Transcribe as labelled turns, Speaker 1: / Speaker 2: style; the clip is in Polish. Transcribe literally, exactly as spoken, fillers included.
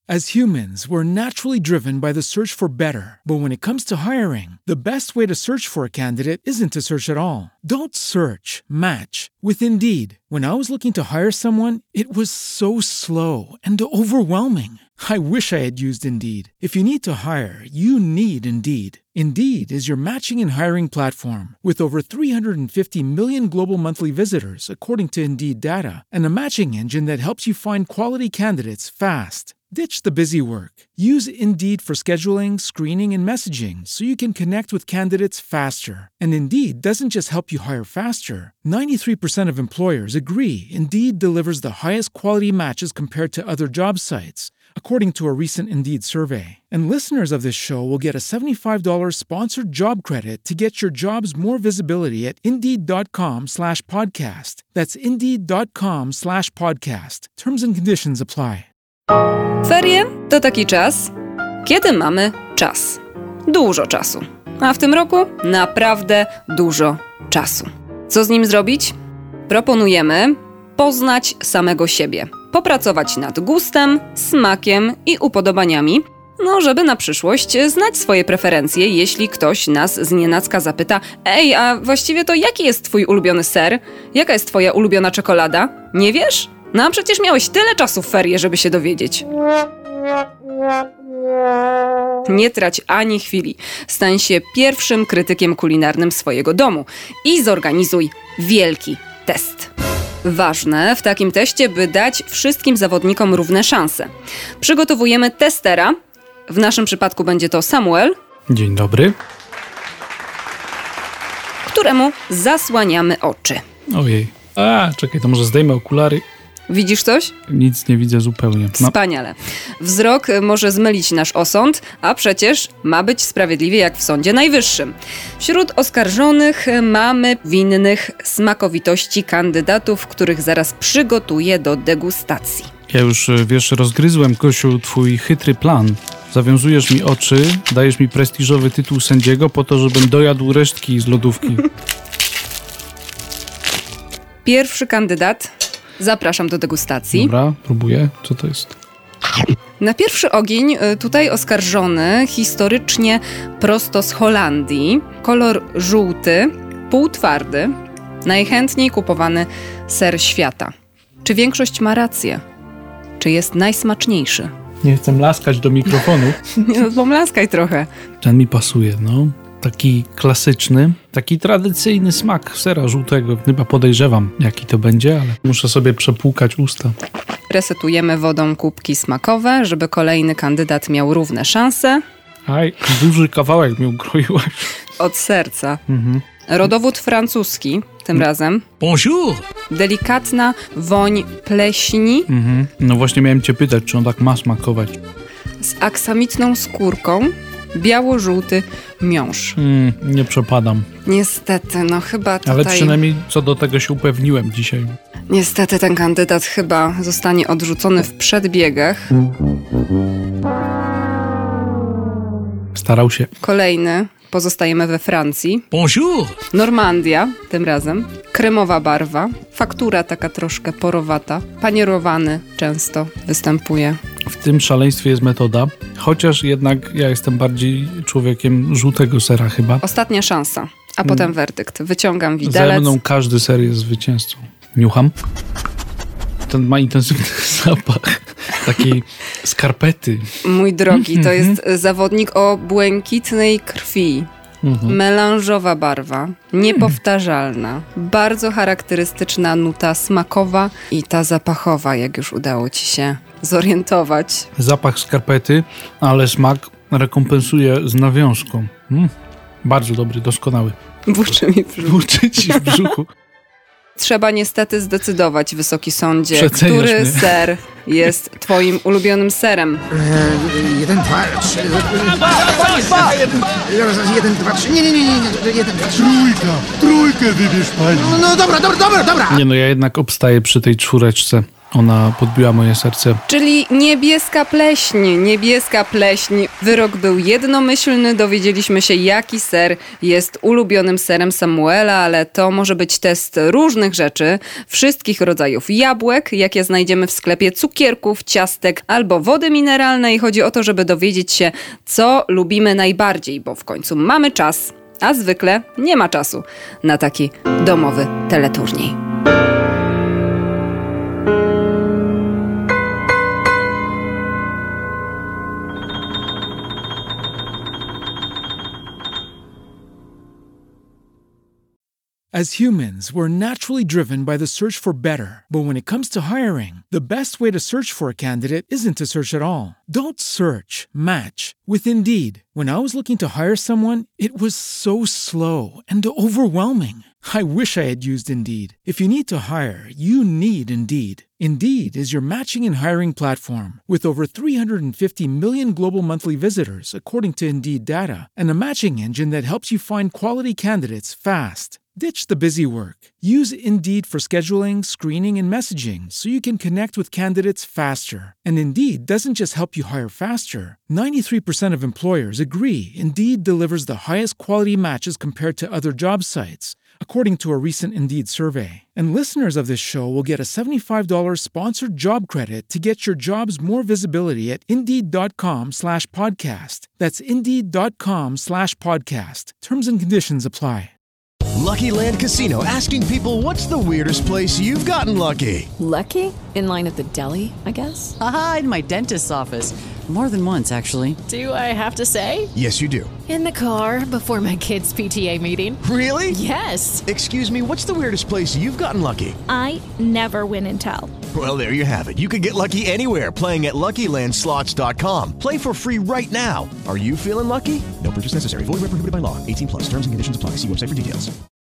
Speaker 1: As humans, we're naturally driven by the search for better. But when it comes to hiring, the best way to search for a candidate isn't to search at all. Don't search, match with Indeed. When I was looking to hire someone, it was so slow and overwhelming. I wish I had used Indeed. If you need to hire, you need Indeed. Indeed is your matching and hiring platform with over three hundred fifty million global monthly visitors, according to Indeed data, and a matching engine that helps you find quality candidates fast. Ditch the busy work. Use Indeed for scheduling, screening, and messaging so you can connect with candidates faster. And Indeed doesn't just help you hire faster. ninety-three percent of employers agree Indeed delivers the highest quality matches compared to other job sites, according to a recent Indeed survey. And listeners of this show will get a seventy-five dollars sponsored job credit to get your jobs more visibility at Indeed.com slash podcast. That's Indeed.com slash podcast. Terms and conditions apply.
Speaker 2: Ferie to taki czas, kiedy mamy czas. Dużo czasu. A w tym roku naprawdę dużo czasu. Co z nim zrobić? Proponujemy poznać samego siebie. Popracować nad gustem, smakiem i upodobaniami, no żeby na przyszłość znać swoje preferencje, jeśli ktoś nas znienacka zapyta: ej, a właściwie to jaki jest twój ulubiony ser? Jaka jest twoja ulubiona czekolada? Nie wiesz? No a przecież miałeś tyle czasu w ferie, żeby się dowiedzieć. Nie trać ani chwili. Stań się pierwszym krytykiem kulinarnym swojego domu i zorganizuj wielki test. Ważne w takim teście, by dać wszystkim zawodnikom równe szanse. Przygotowujemy testera. W naszym przypadku będzie to Samuel.
Speaker 3: Dzień dobry.
Speaker 2: Któremu zasłaniamy oczy.
Speaker 3: Ojej. A, czekaj, to może zdejmę okulary.
Speaker 2: Widzisz coś?
Speaker 3: Nic nie widzę zupełnie. No.
Speaker 2: Wspaniale. Wzrok może zmylić nasz osąd, a przecież ma być sprawiedliwie jak w Sądzie Najwyższym. Wśród oskarżonych mamy winnych smakowitości kandydatów, których zaraz przygotuję do degustacji.
Speaker 3: Ja już, wiesz, rozgryzłem, Kosiu, twój chytry plan. Zawiązujesz mi oczy, dajesz mi prestiżowy tytuł sędziego po to, żebym dojadł resztki z lodówki.
Speaker 2: Pierwszy kandydat. Zapraszam do degustacji.
Speaker 3: Dobra, próbuję. Co to jest?
Speaker 2: Na pierwszy ogień tutaj oskarżony historycznie prosto z Holandii. Kolor żółty, półtwardy, najchętniej kupowany ser świata. Czy większość ma rację? Czy jest najsmaczniejszy?
Speaker 3: Nie chcę laskać do mikrofonu.
Speaker 2: No, pomlaskaj trochę.
Speaker 3: Ten mi pasuje, no. Taki klasyczny, taki tradycyjny smak sera żółtego. Chyba podejrzewam, jaki to będzie, ale muszę sobie przepłukać usta.
Speaker 2: Resetujemy wodą kubki smakowe, żeby kolejny kandydat miał równe szanse.
Speaker 3: Aj, duży kawałek mi ukroiłaś.
Speaker 2: Od serca.
Speaker 3: Mhm.
Speaker 2: Rodowód francuski, tym razem.
Speaker 4: Bonjour!
Speaker 2: Delikatna woń pleśni.
Speaker 3: Mhm. No właśnie miałem cię pytać, czy on tak ma smakować.
Speaker 2: Z aksamitną skórką. Biało-żółty miąższ.
Speaker 3: Mm, nie przepadam.
Speaker 2: Niestety, no chyba tutaj...
Speaker 3: Ale przynajmniej co do tego się upewniłem dzisiaj.
Speaker 2: Niestety ten kandydat chyba zostanie odrzucony w przedbiegach.
Speaker 3: Starał się.
Speaker 2: Kolejny. Pozostajemy we Francji.
Speaker 4: Bonjour!
Speaker 2: Normandia, tym razem. Kremowa barwa. Faktura taka troszkę porowata. Panierowany często występuje.
Speaker 3: W tym szaleństwie jest metoda, chociaż jednak ja jestem bardziej człowiekiem żółtego sera chyba.
Speaker 2: Ostatnia szansa, a potem werdykt. Wyciągam widelec.
Speaker 3: Ze mną każdy ser jest zwycięzcą. Niucham. Ten ma intensywny zapach takiej skarpety.
Speaker 2: Mój drogi, to jest zawodnik o błękitnej krwi.
Speaker 3: Mhm.
Speaker 2: Melanżowa barwa, niepowtarzalna, bardzo charakterystyczna nuta smakowa i ta zapachowa, jak już udało ci się zorientować.
Speaker 3: Zapach skarpety, ale smak rekompensuje z nawiązką. Mm. Bardzo dobry, doskonały.
Speaker 2: Burczy mi w brzuchu.
Speaker 3: Burczy ci w brzuchu.
Speaker 2: Trzeba niestety zdecydować, Wysoki Sądzie,
Speaker 3: Przeceniasz
Speaker 2: który
Speaker 3: mnie.
Speaker 2: ser jest twoim ulubionym serem.
Speaker 5: Eee, jeden, dwa, trzy... Jeden, dwa, trzy... Nie, nie, nie, nie, jeden, dwa, trzy...
Speaker 6: Trójka! Trójkę wybierz pani!
Speaker 5: No, no dobra, dobra, dobra, dobra!
Speaker 3: Nie no, ja jednak obstaję przy tej czwóreczce. Ona podbiła moje serce.
Speaker 2: Czyli niebieska pleśń, niebieska pleśń. Wyrok był jednomyślny, dowiedzieliśmy się, jaki ser jest ulubionym serem Samuela, ale to może być test różnych rzeczy, wszystkich rodzajów jabłek, jakie znajdziemy w sklepie, cukierków, ciastek albo wody mineralnej. Chodzi o to, żeby dowiedzieć się, co lubimy najbardziej, bo w końcu mamy czas, a zwykle nie ma czasu na taki domowy teleturniej.
Speaker 1: As humans, we're naturally driven by the search for better. But when it comes to hiring, the best way to search for a candidate isn't to search at all. Don't search, match with Indeed. When I was looking to hire someone, it was so slow and overwhelming. I wish I had used Indeed. If you need to hire, you need Indeed. Indeed is your matching and hiring platform with over three hundred fifty million global monthly visitors, according to Indeed data, and a matching engine that helps you find quality candidates fast. Ditch the busy work. Use Indeed for scheduling, screening, and messaging so you can connect with candidates faster. And Indeed doesn't just help you hire faster. ninety-three percent of employers agree Indeed delivers the highest quality matches compared to other job sites, according to a recent Indeed survey. And listeners of this show will get a seventy-five dollars sponsored job credit to get your jobs more visibility at Indeed.com slash podcast. That's Indeed.com slash podcast. Terms and conditions apply.
Speaker 4: Lucky Land Casino, asking people, what's the weirdest place you've gotten lucky?
Speaker 6: Lucky? In line at the deli, I guess?
Speaker 7: Aha, in my dentist's office. More than once, actually.
Speaker 6: Do I have to say?
Speaker 4: Yes, you do.
Speaker 6: In the car before my kids' P T A meeting.
Speaker 4: Really?
Speaker 6: Yes.
Speaker 4: Excuse me, what's the weirdest place you've gotten lucky?
Speaker 8: I never win and tell.
Speaker 4: Well, there you have it. You can get lucky anywhere, playing at Lucky Land Slots dot com. Play for free right now. Are you feeling lucky? No purchase necessary. Void where prohibited by law. eighteen plus. Terms and conditions apply. See website for details.